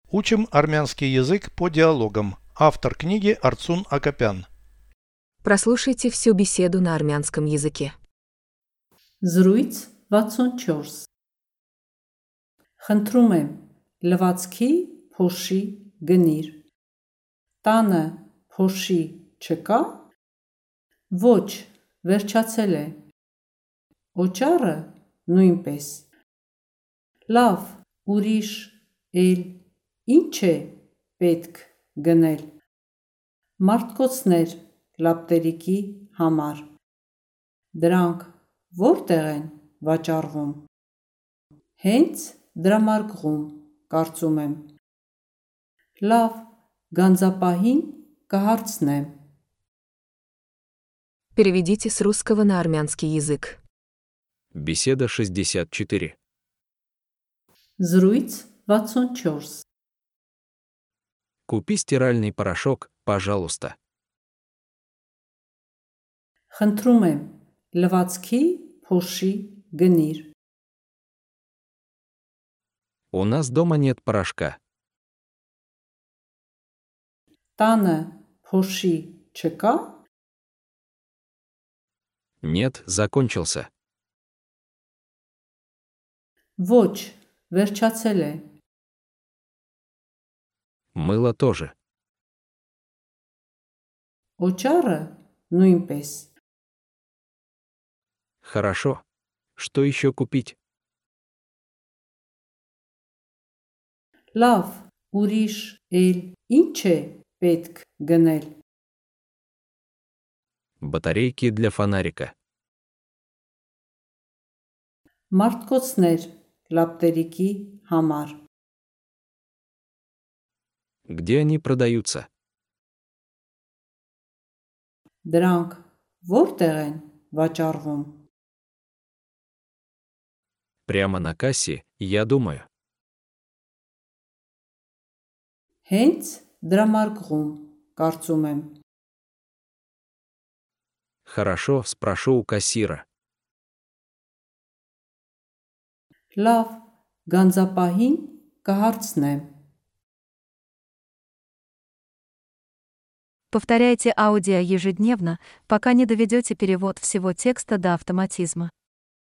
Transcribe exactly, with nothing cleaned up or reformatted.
Учим армянский язык по диалогам. Автор книги Арцун Акопян. Прослушайте всю беседу на армянском языке. Զրույց վաթսուն չորս Խնդրում եմ, լվացքի փոշի գնիր։ Տանը փոշի չկա։ Ոչ, վերջացել է։ Օճառը նույնպես։ Լավ, ուրիշ էլ ինչ է պետք գնել։ Մարտկոցներ լապտերիկի համար։ Դրանք որտեղ են վաճառվում։ Հենց դրամարկղում, կարծում եմ։ Լավ, գանձապահին կհարցնեմ։ Переведите с русского на армянский язык. Беседа шестьдесят четыре. Զրույց վաթսուն չորս Купи стиральный порошок, пожалуйста. Խնդրում եմ, լվացքի փոշի գնիր։ У нас дома нет порошка. Տանը փոշի չկա։ Нет, закончился. Ոչ, վերջացել է։ Мыло тоже. Օճառը նույնպես։ Хорошо. Что еще купить? Լավ, ուրիշ էլ ինչ է պետք գնել։ Батарейки для фонарика. Մարտկոցներ լապտերիկի համար։ Где они продаются? Դրանք որտեղ են վաճառվում։ Прямо на кассе, я думаю. Հենց դրամարկղում, կարծում եմ։ Хорошо, спрошу у кассира. Լավ, գանձապահին կհարցնեմ։ Повторяйте аудио ежедневно, пока не доведете перевод всего текста до автоматизма.